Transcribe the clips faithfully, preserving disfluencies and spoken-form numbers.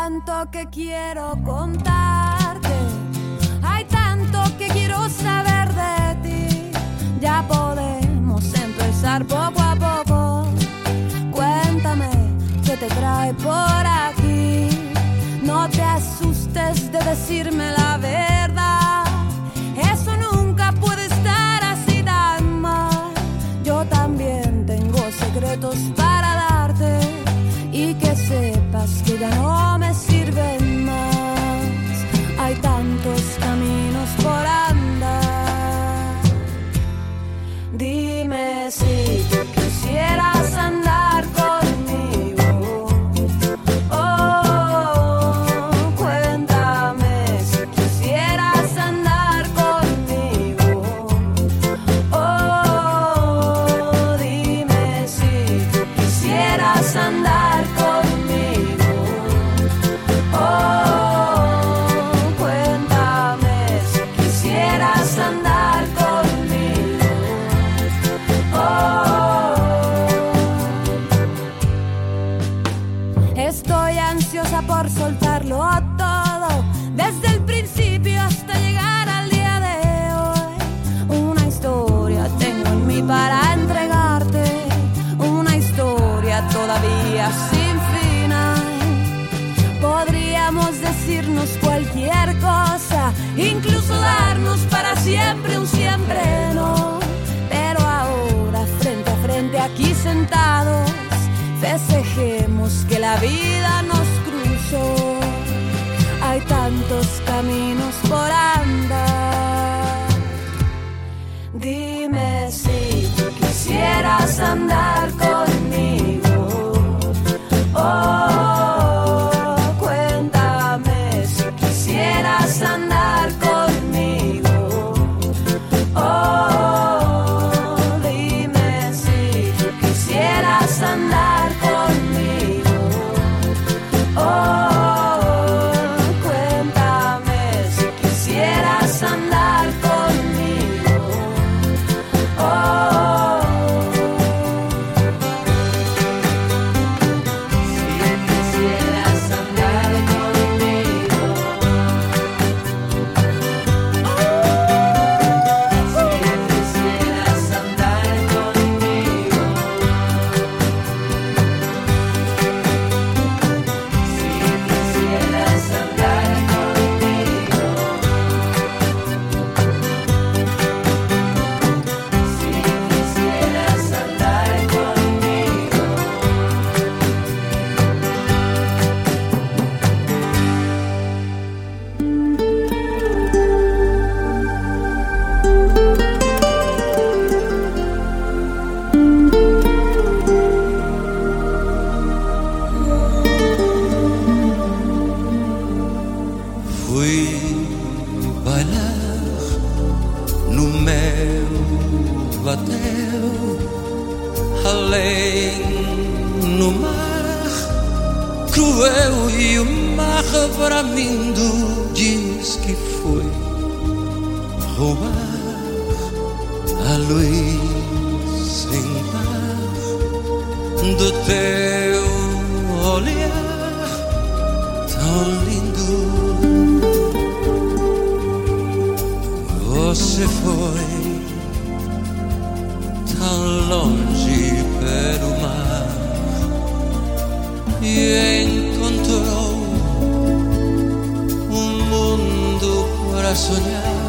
tanto que quiero contarte, hay tanto que quiero saber de ti. Ya podemos empezar poco a poco. Cuéntame qué te trae por aquí. No te asustes de decirme la verdad. Eso nunca puede estar así tan mal. Yo también tengo secretos para darte y que sepas que ya no me sirven más. Hay tantos caminos por andar. Dime si tú quisieras andar conmigo. Oh, cuéntame si quisieras andar conmigo. Oh, dime si tú quisieras andar conmigo. Oh, cuéntame si quisieras andar conmigo. Oh, estoy ansiosa por soltarlo todo, desde el principio hasta llegar al día de hoy. Una historia tengo en mí para entregarte, una historia todavía sin final. Podríamos decirnos cualquier cosa, incluso darnos para siempre un siempre no. Pero ahora frente a frente aquí sentados, festejemos que la vida nos cruzó. Hay tantos caminos por andar. Dime si tú quisieras andar conmigo. Oh, cuéntame si quisieras andar conmigo. Oh, dime si tú quisieras andar conmigo. Oh, cuéntame si quisieras andar conmigo. Oh, si quisieras andar conmigo. Si quisieras andar conmigo. Si quisieras andar conmigo. Fui bailar no meu batel, além no mar cruel, e o mar bramindo diz que foi roubar a luz sem par do teu olhar tão lindo. Você foi tão longe pelo mar e encontrou um mundo para sonhar.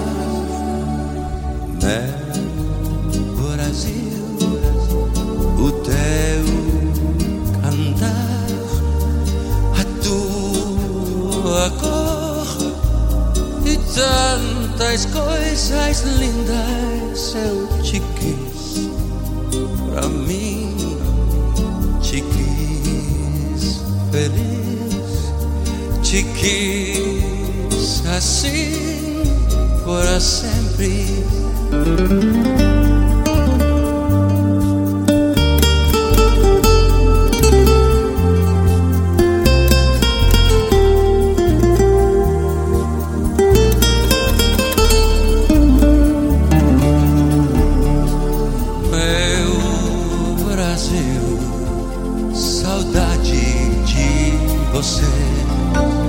Meu Brasil, o teu cantar, a tua cor e tantas coisas lindas eu te quis. Pra mim te quis feliz, te quis assim para sempre. Saudade de você.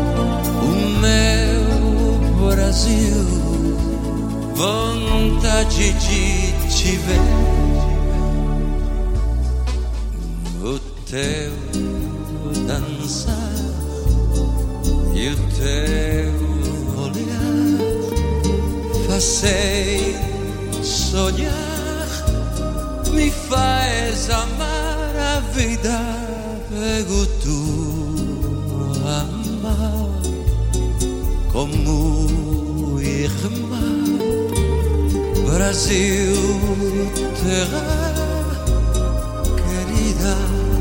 vontade de te ver. O teu dançar e o teu olhar fazei sonhar, me faz amar a vida. Pego tu amar como irmã. Brasil, terra querida.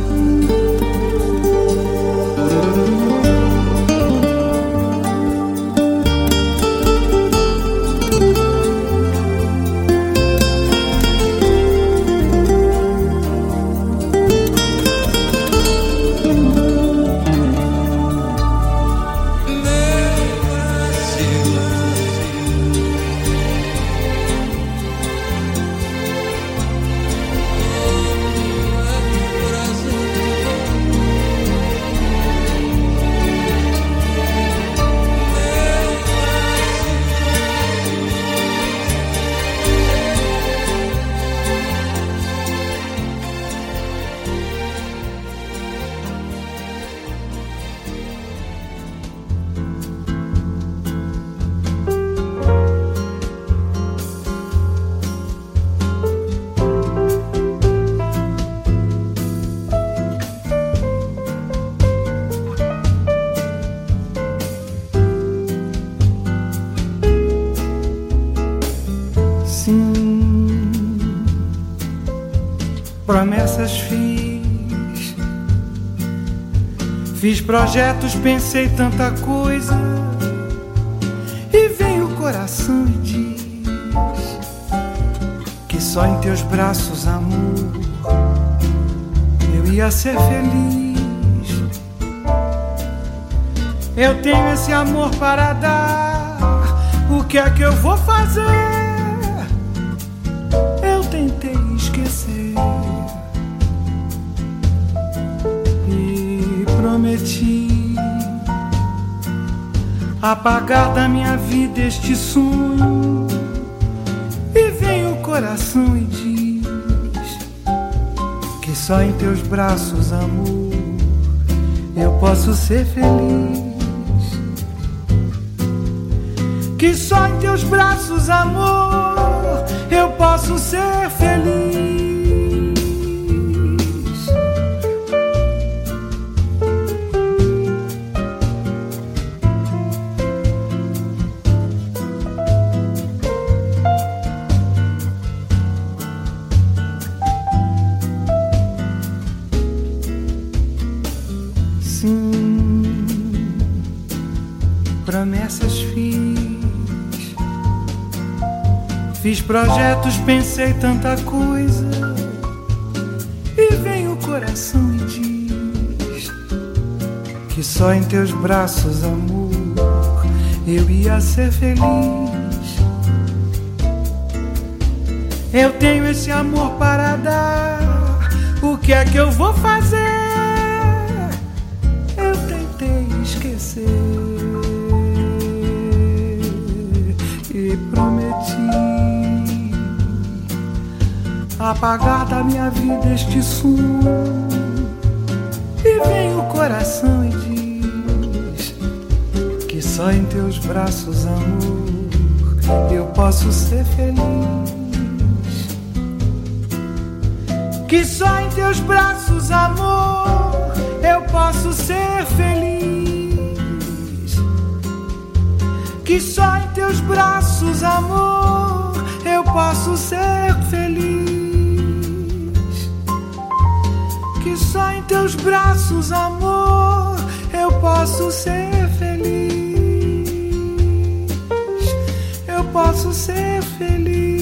Promessas fiz, fiz projetos, pensei tanta coisa, e vem o coração e diz que só em teus braços, amor, eu ia ser feliz. Eu tenho esse amor para dar, o que é que eu vou fazer? Eu tentei esquecer e prometi apagar da minha vida este sonho, e vem o coração e diz que só em teus braços, amor, eu posso ser feliz. Que só em teus braços, amor, eu posso ser feliz. Sim, promessas fiz. Fiz projetos, pensei tanta coisa, e vem o coração e diz que só em teus braços, amor, eu ia ser feliz. Eu tenho esse amor para dar, o que é que eu vou fazer? Eu tentei esquecer e prometi apagar da minha vida este sonho, e vem o coração e diz que só em teus braços, amor, eu posso ser feliz. Que só em teus braços, amor, eu posso ser feliz. Que só em teus braços, amor, eu posso ser feliz. Que só em teus braços, amor, eu posso ser feliz. Eu posso ser feliz.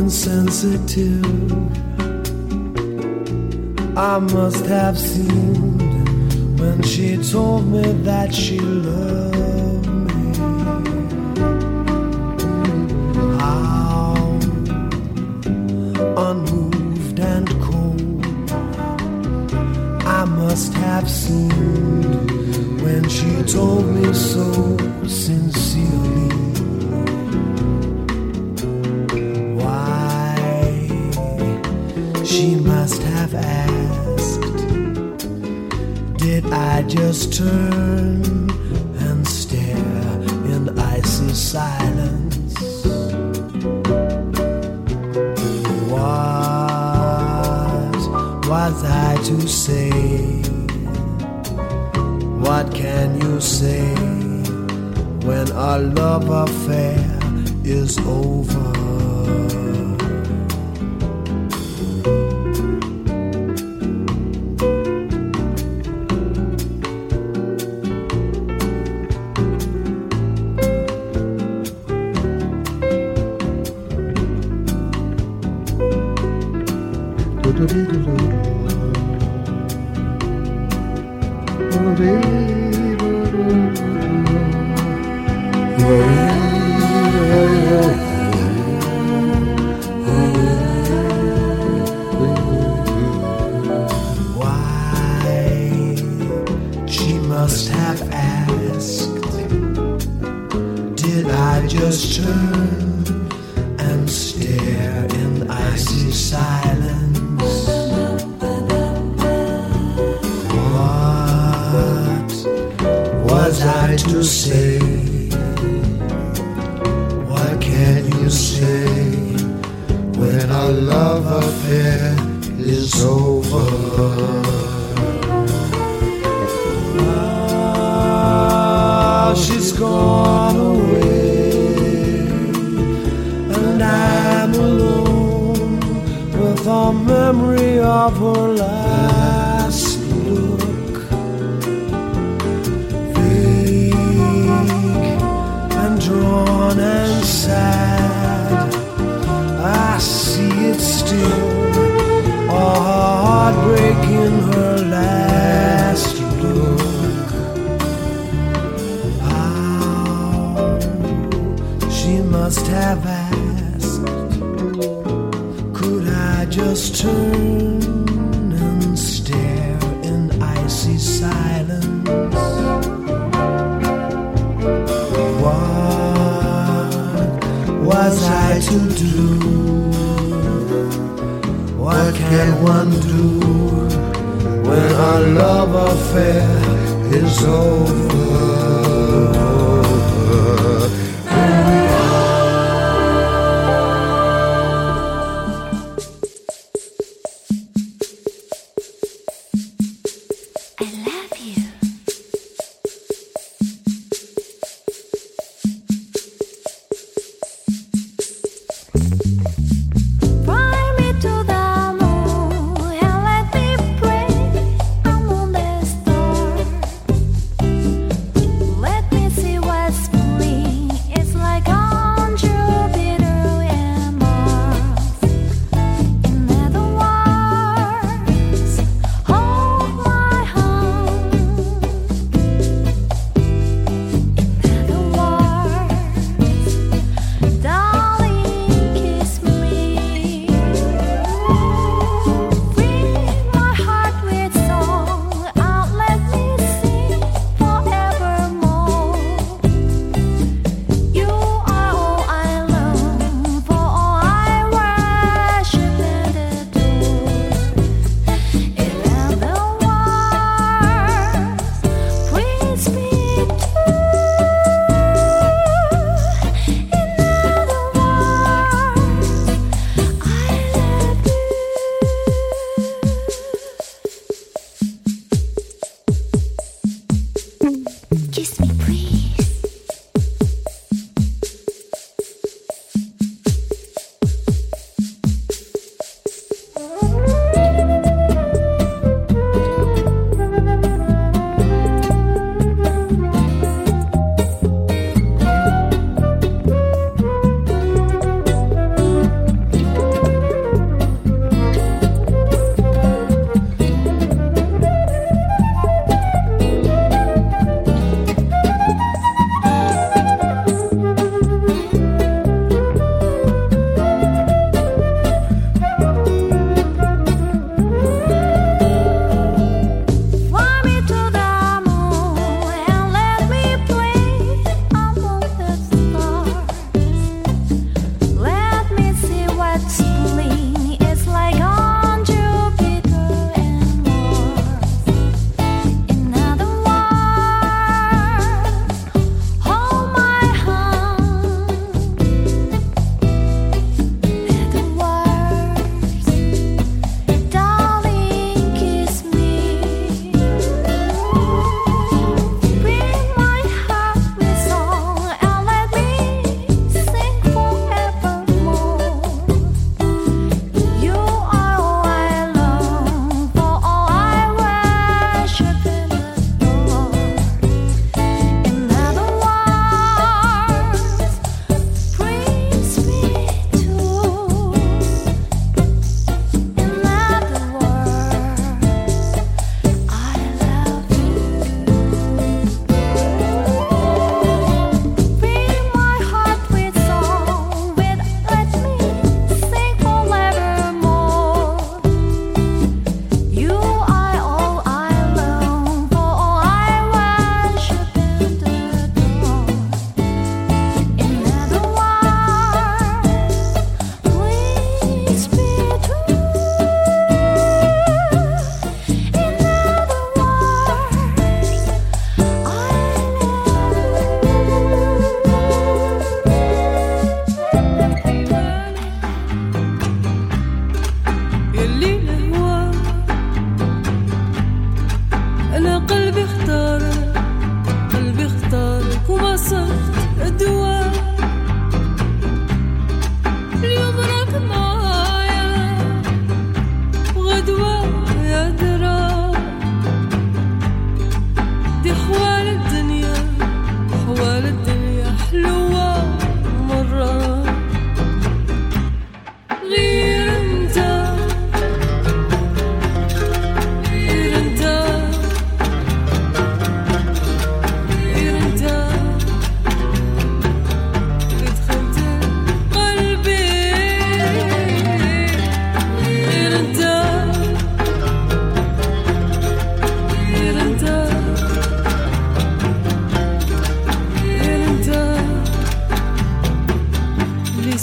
insensitive. I must have seemed when she told me that she loved me. How unmoved and cold I must have seemed when she told me so sincerely. Why she must have asked, did I just turn and stare in icy silence? What was I to say? What can you say when our love affair is over?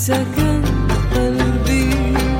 سكن قلبي.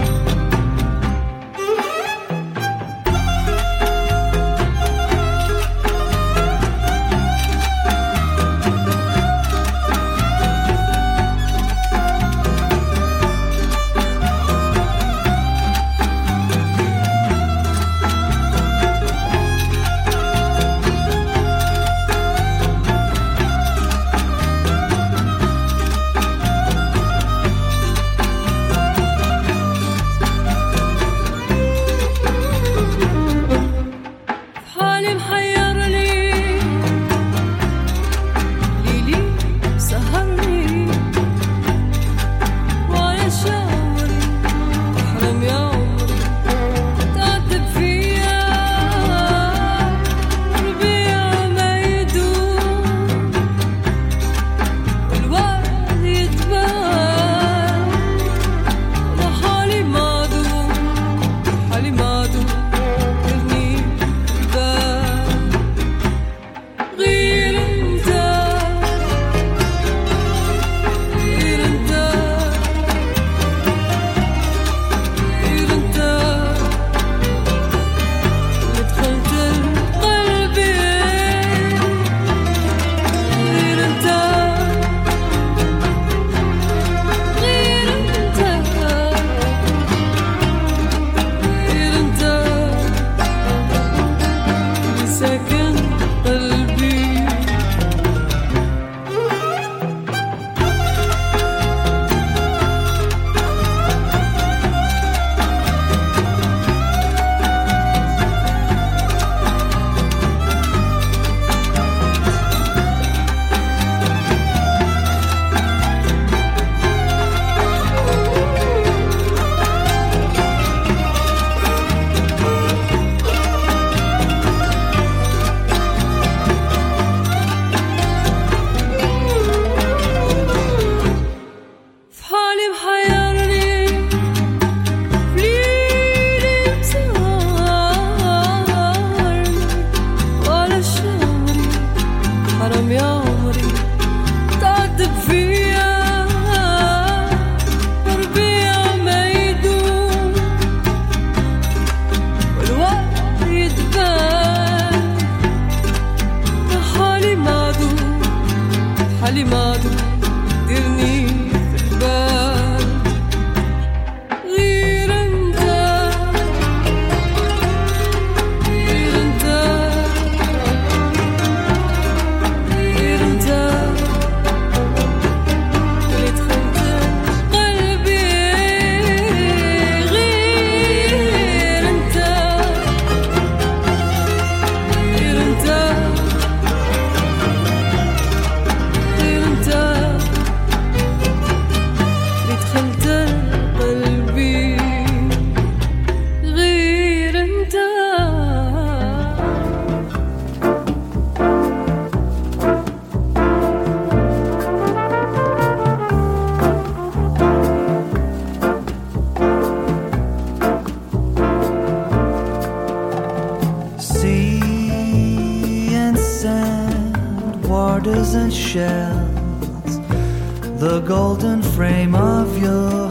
The golden frame of your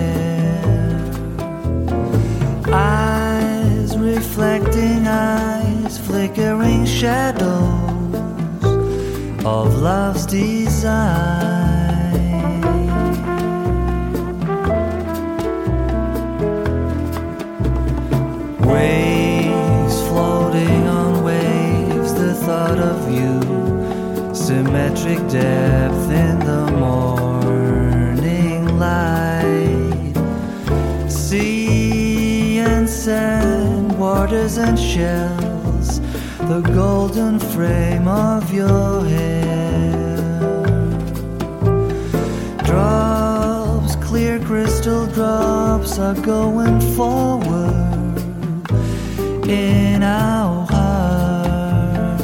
hair, eyes reflecting eyes, flickering shadows of love's design. Waves floating on waves, the thought of you, symmetric depth in the morning light. Sea and sand, waters and shells, the golden frame of your hair. Drops, clear crystal drops, are going forward in our hearts.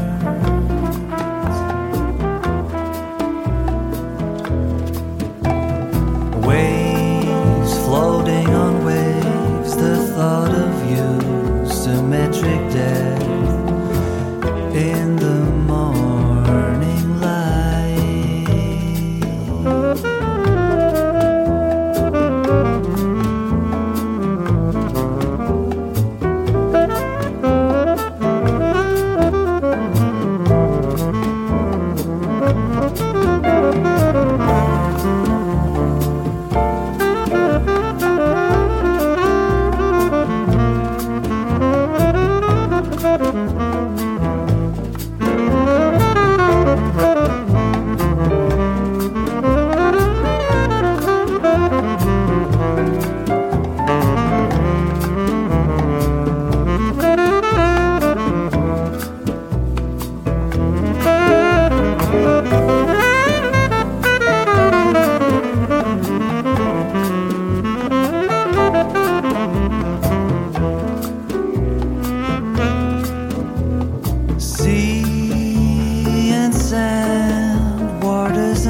Waves floating on waves, the thought of you, symmetric depth in the morning light.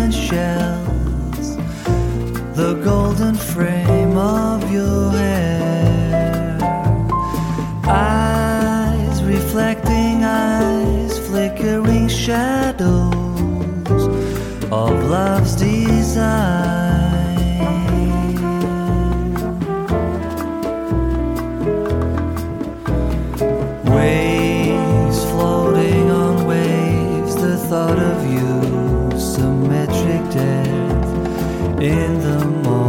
and shells, the golden frame of your hair. Eyes reflecting eyes, flickering shadows of love's design. Waves floating on waves, the thought of you, symmetric death in the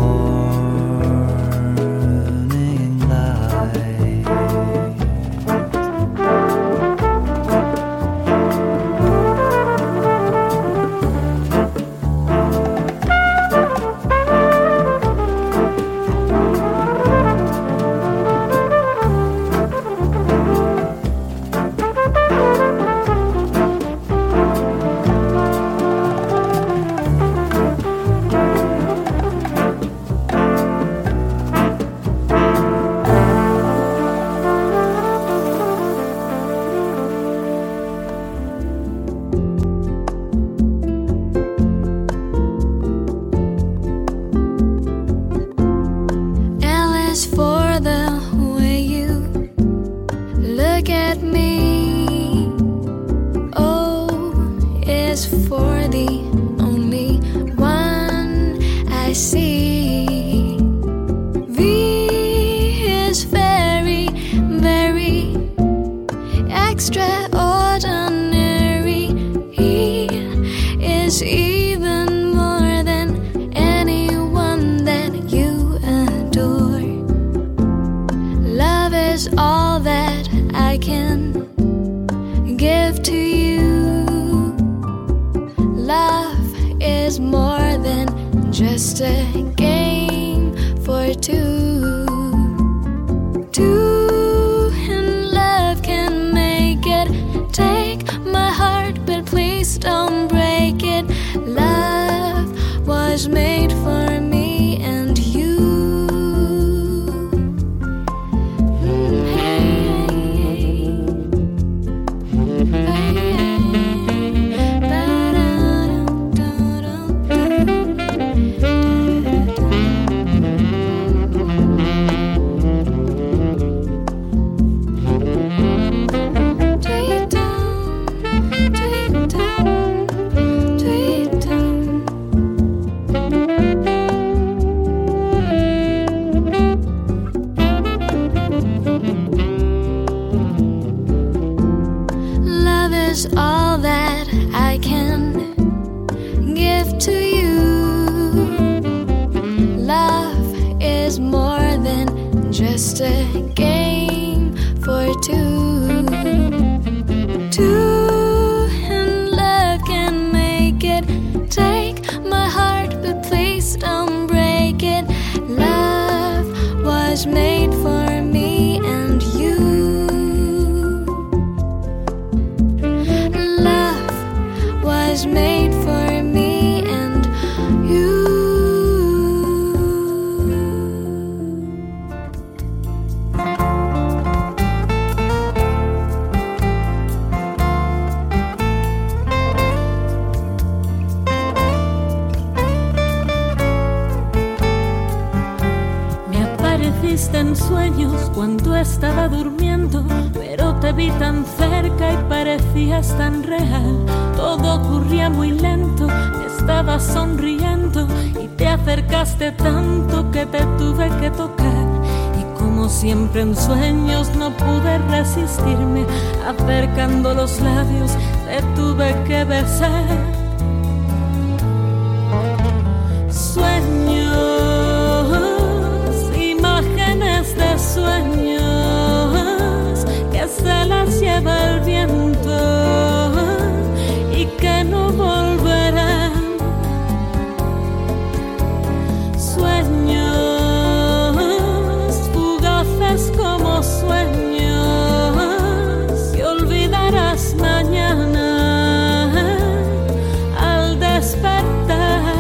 morning light. En sueños cuando estaba durmiendo, pero te vi tan cerca y parecías tan real. Todo ocurría muy lento, estabas sonriendo y te acercaste tanto que te tuve que tocar. Y como siempre en sueños no pude resistirme, acercando los labios te tuve que besar. Sueños, de sueños que se las lleva el viento y que no volverán. Sueños fugaces como sueños que olvidarás mañana al despertar.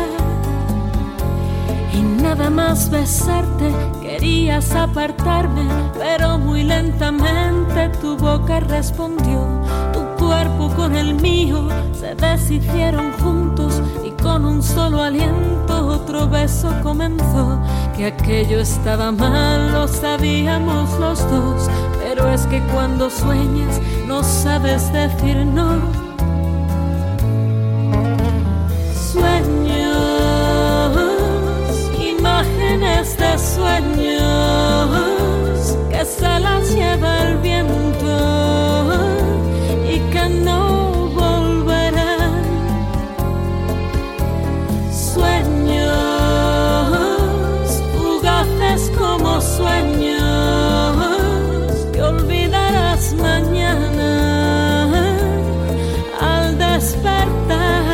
Y nada más besarte querías apartarme, pero muy lentamente tu boca respondió, tu cuerpo con el mío se deshicieron juntos y con un solo aliento otro beso comenzó. Que aquello estaba mal, lo sabíamos los dos, pero es que cuando sueñas no sabes decir no. Sueños, imágenes de sueños que se las lleva el viento y que no volverán. Sueños, fugaces como sueños que olvidarás mañana al despertar.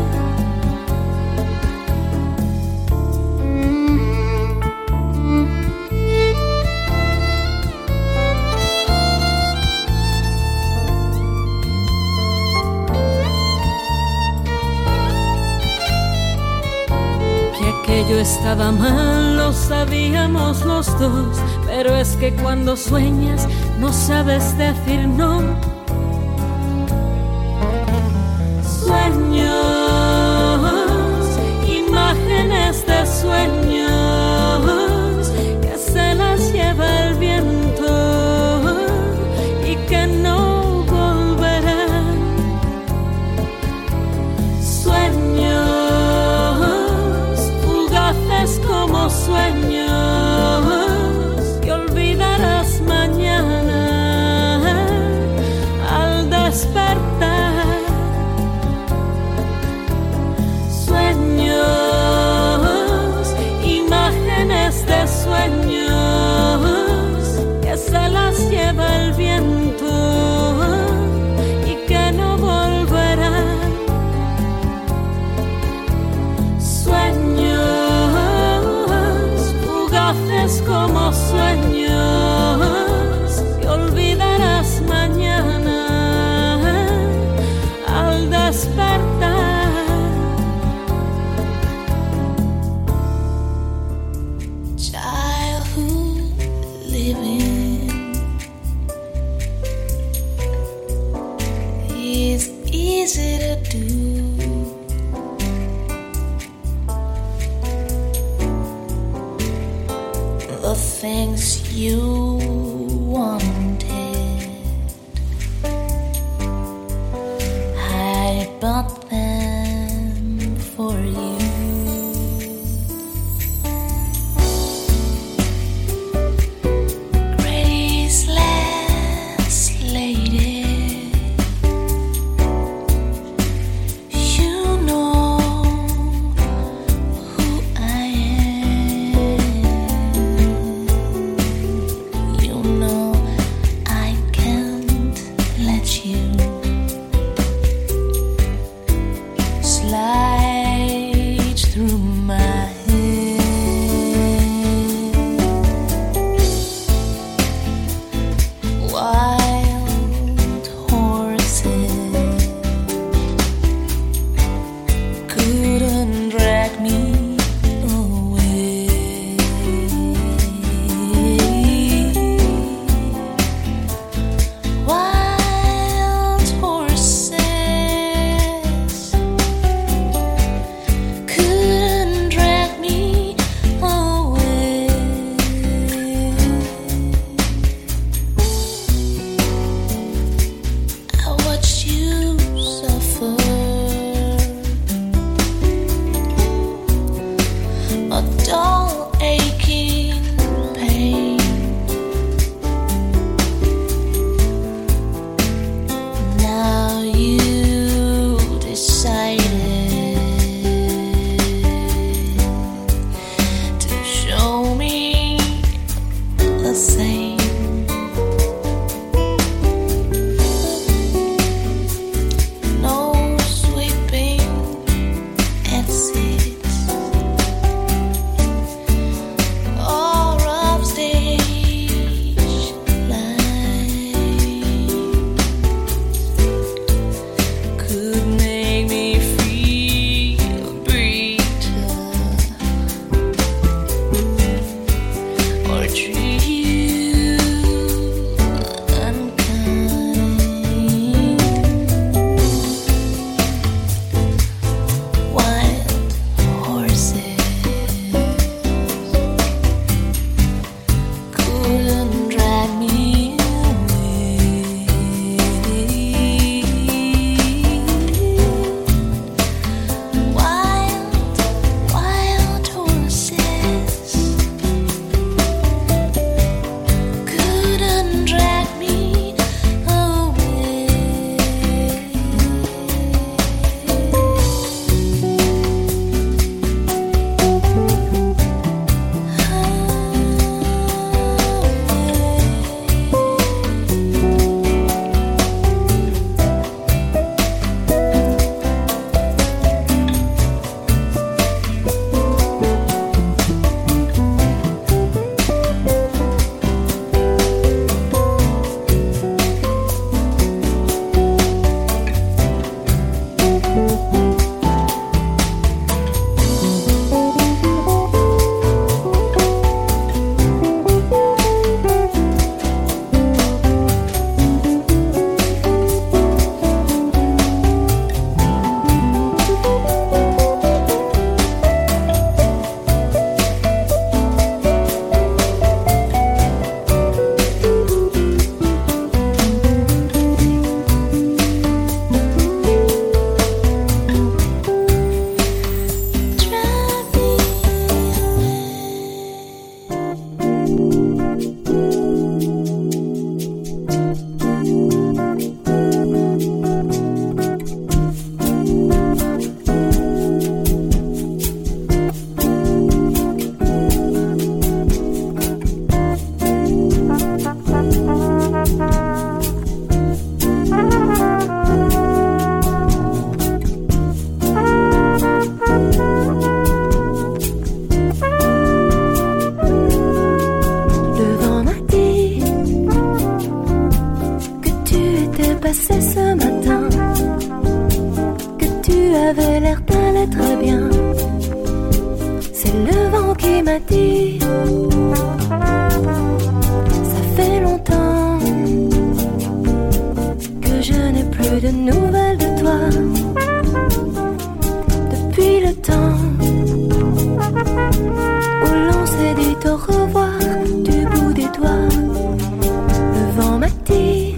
Aquello estaba mal, lo sabíamos los dos, pero es que cuando sueñas no sabes decir no. Sueños, imágenes de sueños que se las lleva el viento y que no volverán. Sueños, como sueños que olvidarás mañana al despertar. Sueños, imágenes de sueños que se las lleva el viento y que no volverán. Sueños, como sueños que olvidarás mañana al despertar. Childhood living is easy to do. The things you wanted, I bought them for you. Graceless lady, you know who I am. You m'a dit, ça fait longtemps que je n'ai plus de nouvelles de toi. Depuis le temps où l'on s'est dit au revoir du bout des doigts, le vent m'a dit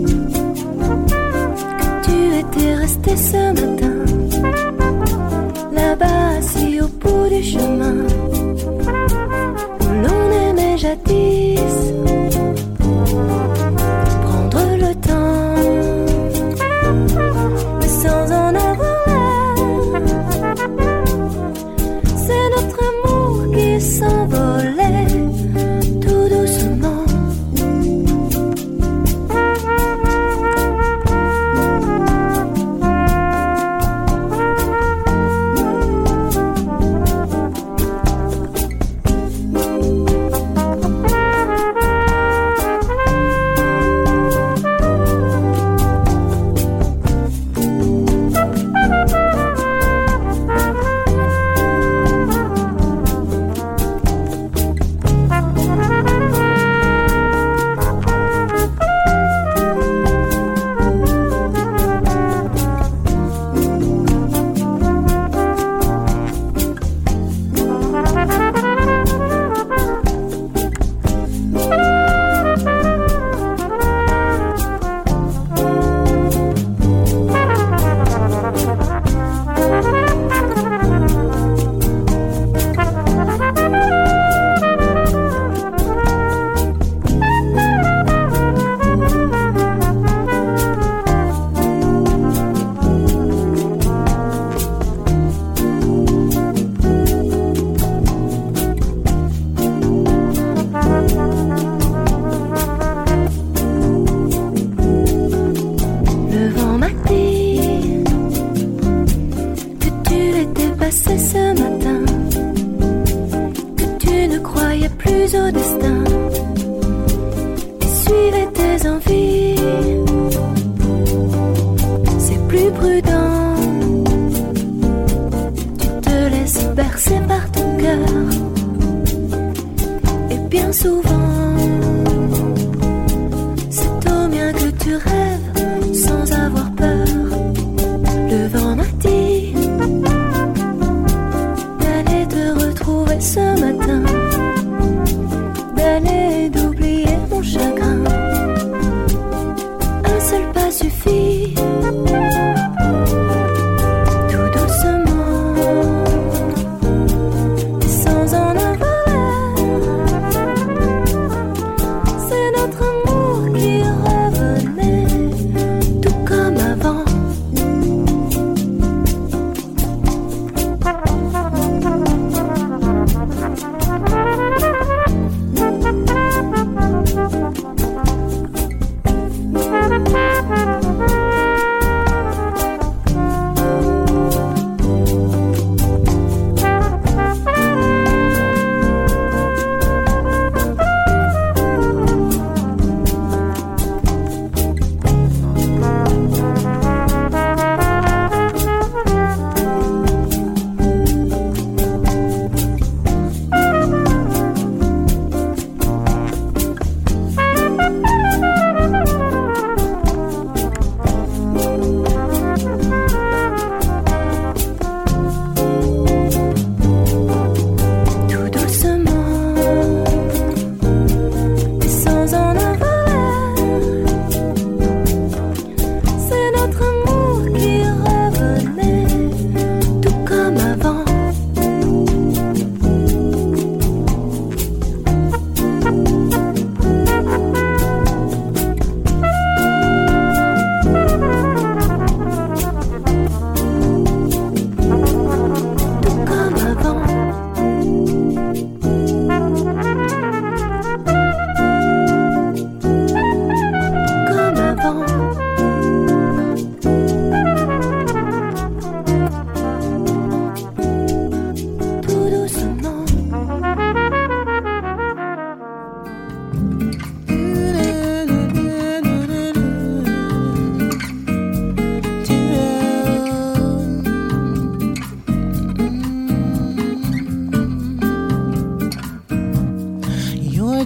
que tu étais resté ce matin, là-bas assis au bout du chemin où l'on aimait jadis. Prendre le temps, mais sans en avoir l'air. C'est notre amour qui s'envolait tout doucement.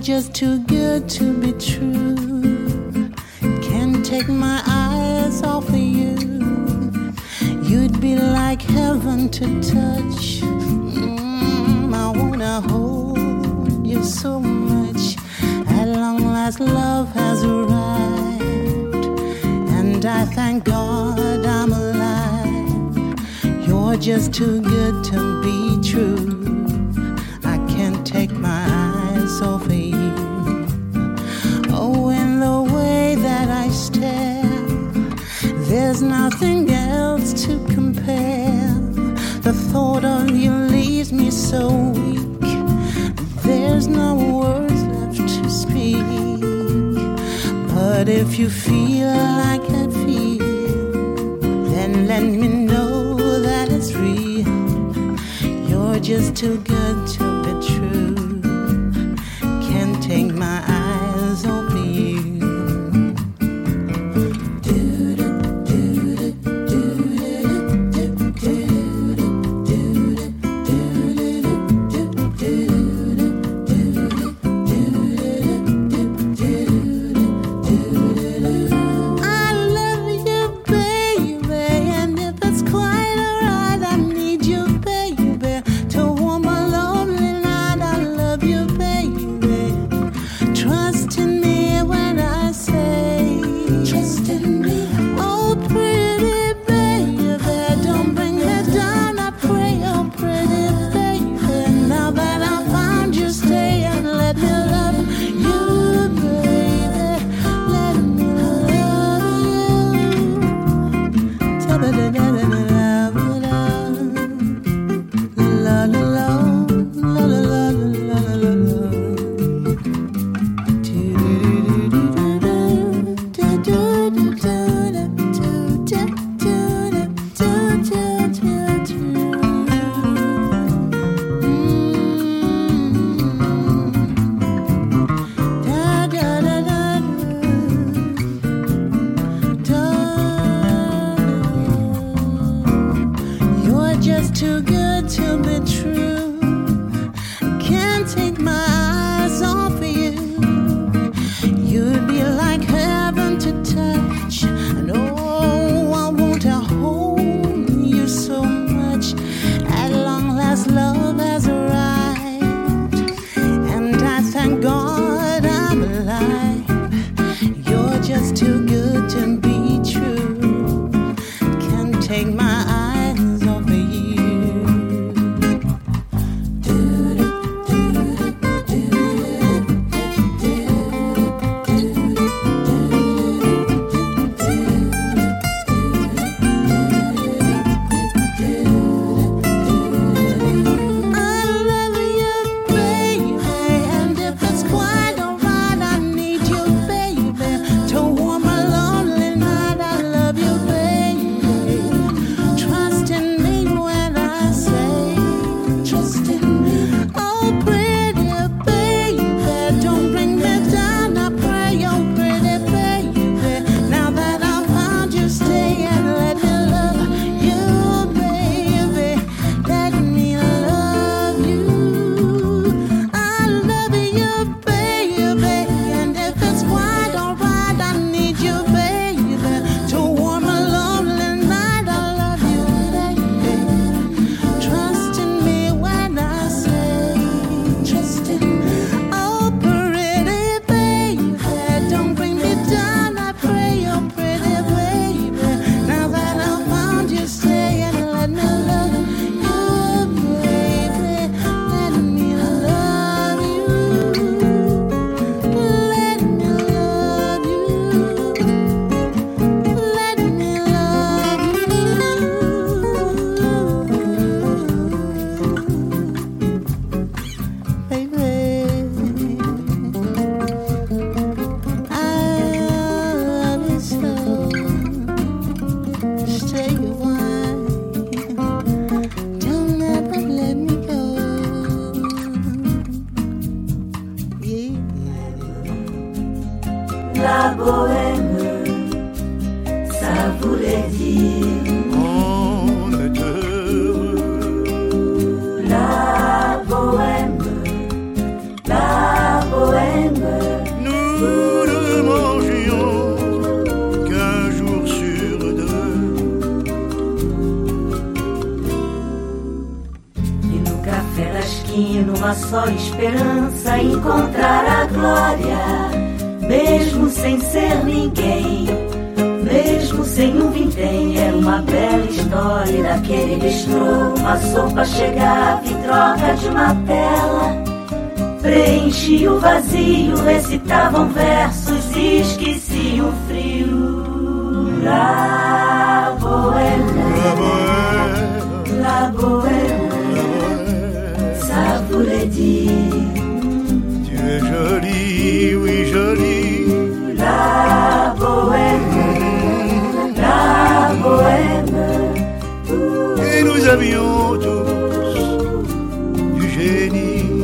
just too good to be true. Can't take my eyes off of you. You'd be like heaven to touch. Mm, I wanna hold you so much. At long last love has arrived, and I thank God I'm alive. You're just too good to be true. I can't take my eyes off of you. Oh, in the way that I stare, there's nothing else to compare. The thought of you leaves me so weak. There's no words left to speak. But if you feel like I feel, then let me know that it's real. You're just too good to be true. Can't take my eyes off of you. I café da esquina, uma só esperança, encontrar a glória, mesmo sem ser ninguém, mesmo sem um vintém. Era uma bela história daquele bistrô, uma sopa chegava em troca de uma tela, preenchia o vazio, recitavam versos e esqueciam o frio. La bohème, la bohème, ça voulait dire tu es jolie, oui jolie. La bohème, la bohème. Et nous avions tous du génie.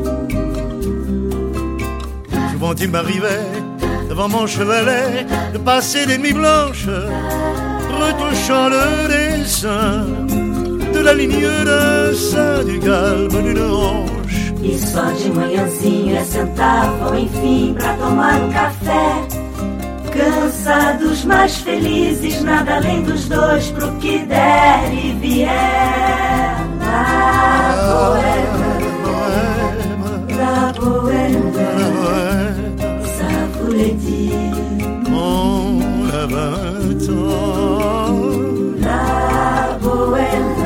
Souvent il m'arrivait devant mon chevalet de passer des nuits blanches, retouchant le dessin de la ligne d'un sein, du galbe d'une hanche. E só de manhãzinha sentavam, enfim, pra tomar um café, cansados, mas felizes, nada além dos dois, pro que der e vier. La bohème, la bohème, ça voulait dire on a vingt ans. La bohème,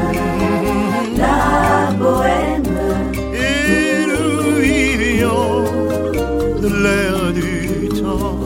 la bohème. Et nous vivions de l'air du temps.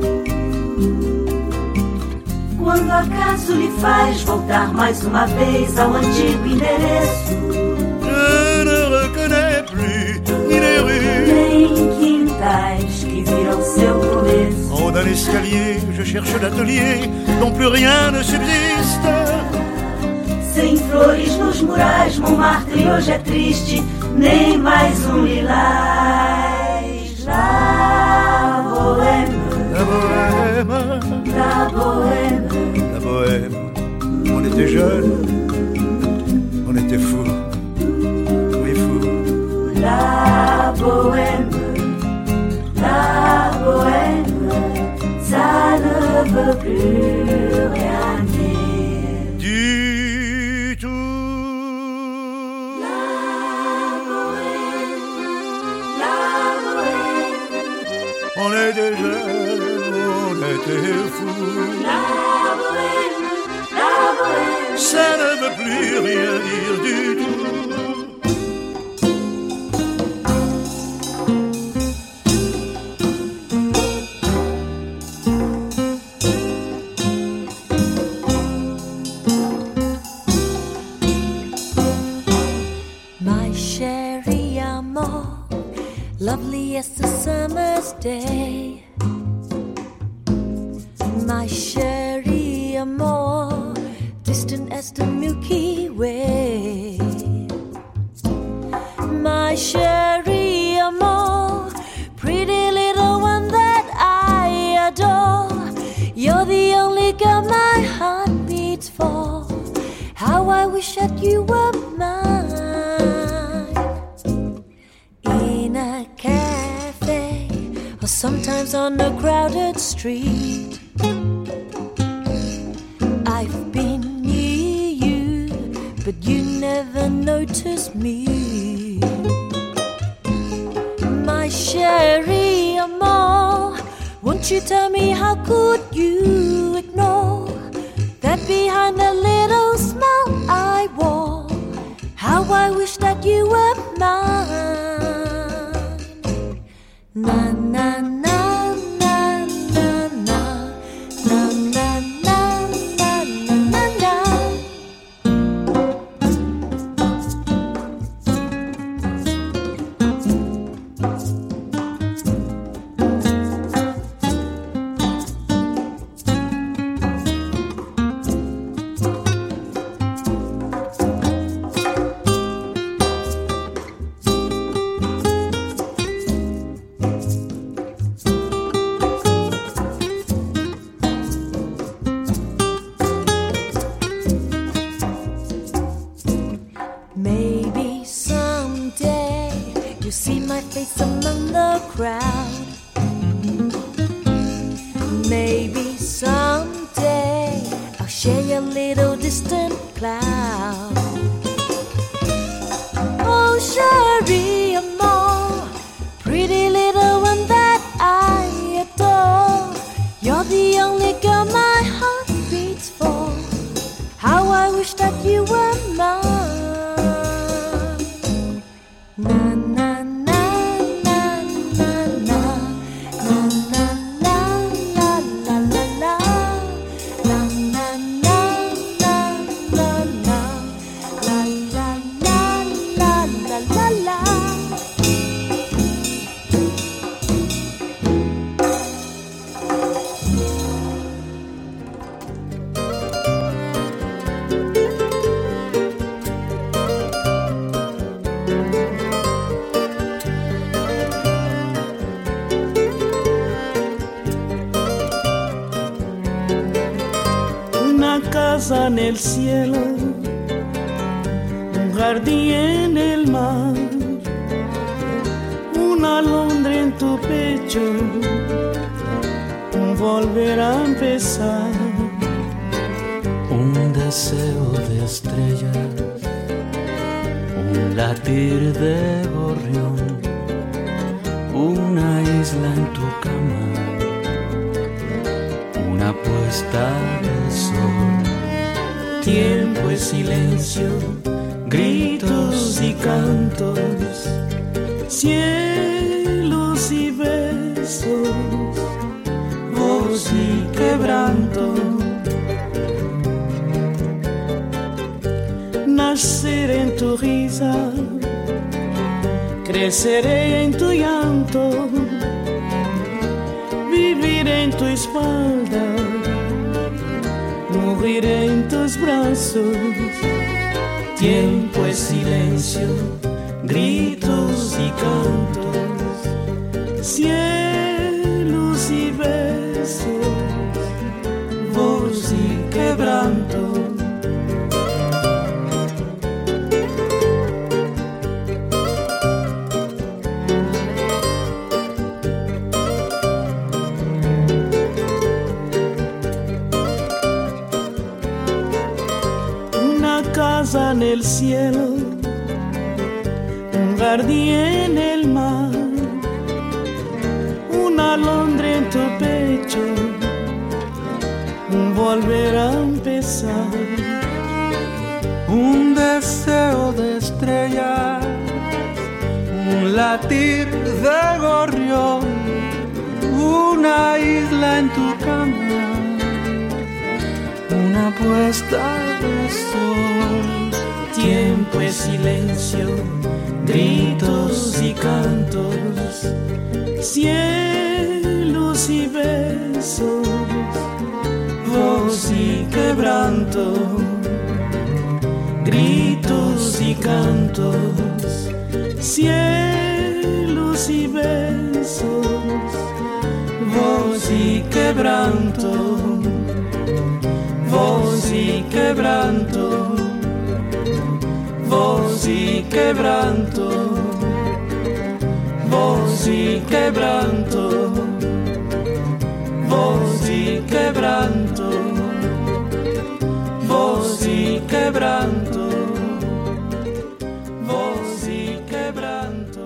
Quando acaso lhe faz voltar mais uma vez ao antigo endereço, je ne reconnais plus ni les rues, nem quintais que viram seu começo. en haut d'un escalier, je cherche l'atelier dont plus rien ne subsiste. Sem flores nos murais, Montmartre hoje é triste, nem mais um lilás. La bohème, La bohème, la bohème. la bohème, on était jeunes, on était fous, oui fous. La bohème, la bohème, ça ne veut plus rien dire. Du tout. La bohème, la bohème, On était jeunes, on était fous. la bohème, la bohème. Ça ne veut plus rien dire du tout. My sherry amor, lovely as the summer's day. My sherry amor, distant as the Milky Way. My sherry amor, pretty little one that I adore. You're the only girl my heart beats for. How I wish that you were mine. In a cafe, or sometimes on a crowded street, I've been near you, but you never noticed me. My sherry amor, won't you tell me how could you ignore that behind the little smile I wore? How I wish that you were mine. Na na na na na na na na na na na na. Maybe someday you'll see my face among the crowd. Maybe someday I'll share your little distant cloud. Oh, casa en el cielo, un jardín en el mar, una alondra en tu pecho, un volver a empezar, un deseo de estrellas, un latir de gorrión, una isla en tu cama, una puesta de sol. Tiempo y silencio, gritos y cantos, cielos y besos, voz y quebranto. Naceré en tu risa, creceré en tu llanto, viviré en tu espalda, moriré en tus brazos. Tiempo es silencio, gritos y cantos, cielos y besos, voz y quebranto. En el cielo, un jardín en el mar, una alondra en tu pecho, un volver a empezar, un deseo de estrellas, un latir de gorrión, una isla en tu cama, una puesta de sol. Tiempo es silencio, gritos y cantos, cielos y besos, voz y quebranto. Gritos y cantos, cielos y besos, voz y quebranto. Voz y quebranto, voz y quebranto, voz y quebranto, voz y quebranto, voz y quebranto, voz y quebranto.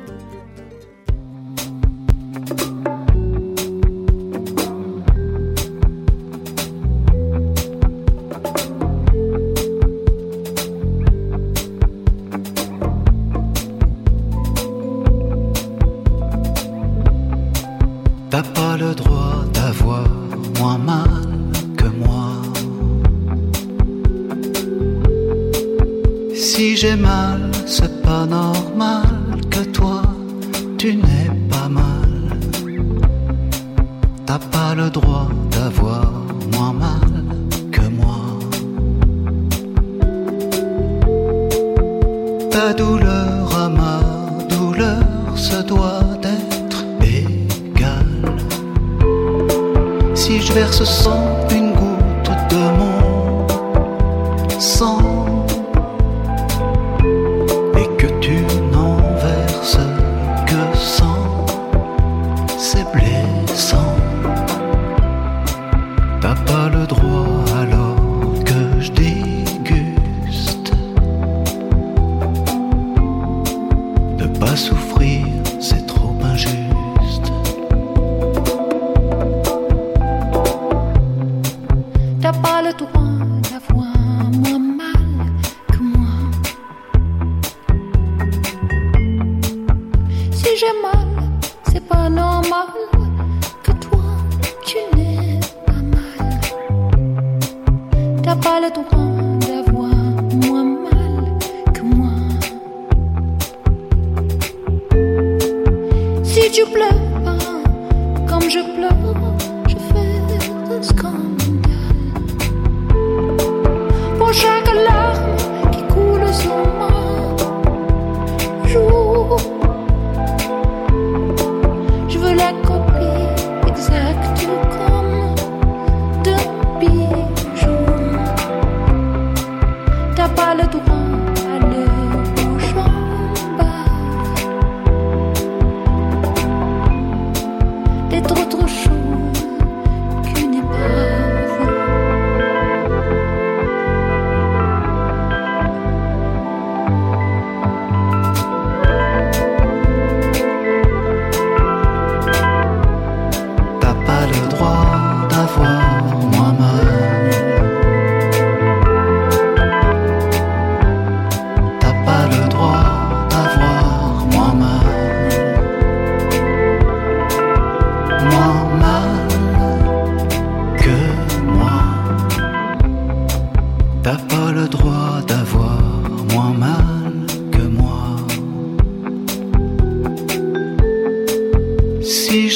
T'as pas le droit d'avoir moins mal que moi. Si j'ai mal, c'est pas normal que toi, tu n'es pas mal. T'as pas le droit d'avoir moins mal que moi. Ta douleur à ma douleur se doit d'être égale. Si je verse sans une goutte de mon sang et que tu n'en verses que cent, c'est blessant. T'as pas le droit alors que je déguste de pas souffrir, c'est trop injuste. T'as pas le droit d'avoir moins mal que moi. Si j'ai mal, c'est pas normal que toi, tu n'es pas mal. T'as pas le droit d'avoir moins mal que moi. Si tu pleures pas comme je pleure, je fais un scandale. Pour chaque larme qui coule sur moi,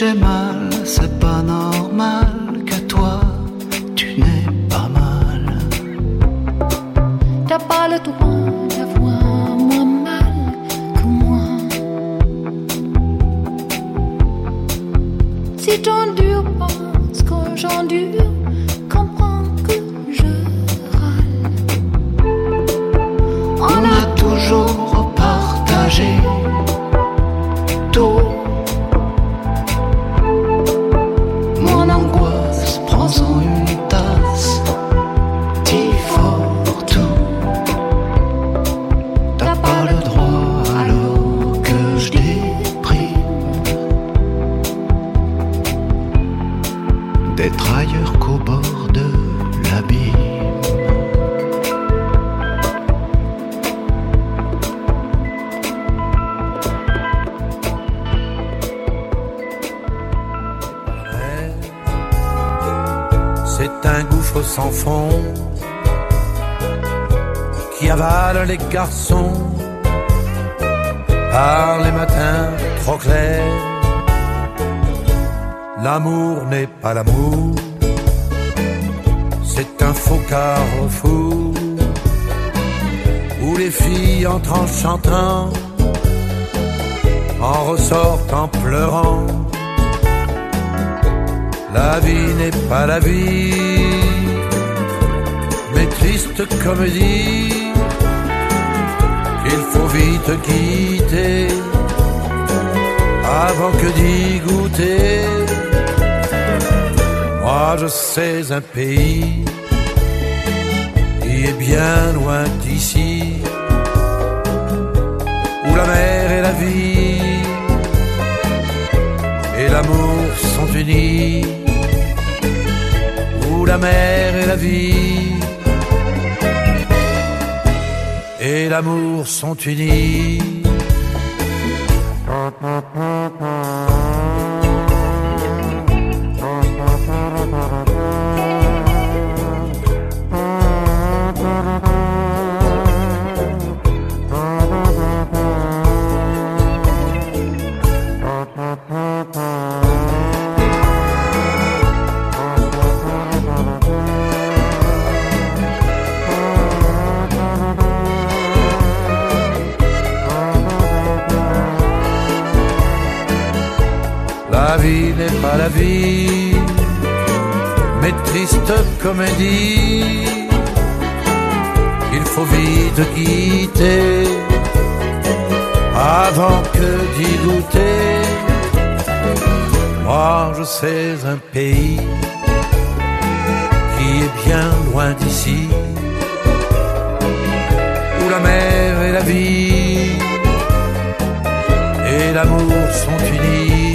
j'ai mal, c'est pas normal que toi, tu n'es pas mal. T'as pas le droit d'avoir moins mal que moi. Si t'endures pas ce que j'endure, comprends que je râle. On a toujours partagé tout. Mon angoisse, prends-en une tasse, dis fort tout. T'as pas le droit alors que je déprime d'être ailleurs qu'au bord de l'abîme. C'est un gouffre sans fond qui avale les garçons par les matins trop clairs. L'amour n'est pas l'amour, c'est un faux carrefour où les filles entrent en chantant, en ressortent en pleurant. La vie n'est pas la vie, mais triste comédie qu'il faut vite quitter avant que d'y goûter. Moi je sais un pays qui est bien loin d'ici, où la mer et la vie et l'amour sont unis, où la mer et la vie et l'amour sont unis. La vie n'est pas la vie, mais triste comédie qu'il faut vite quitter avant que d'y goûter. Moi je sais un pays qui est bien loin d'ici, où la mer et la vie et l'amour sont unis,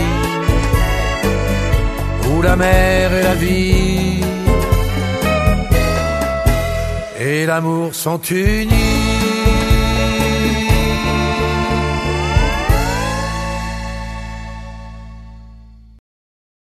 où la mer et la vie et l'amour sont unis.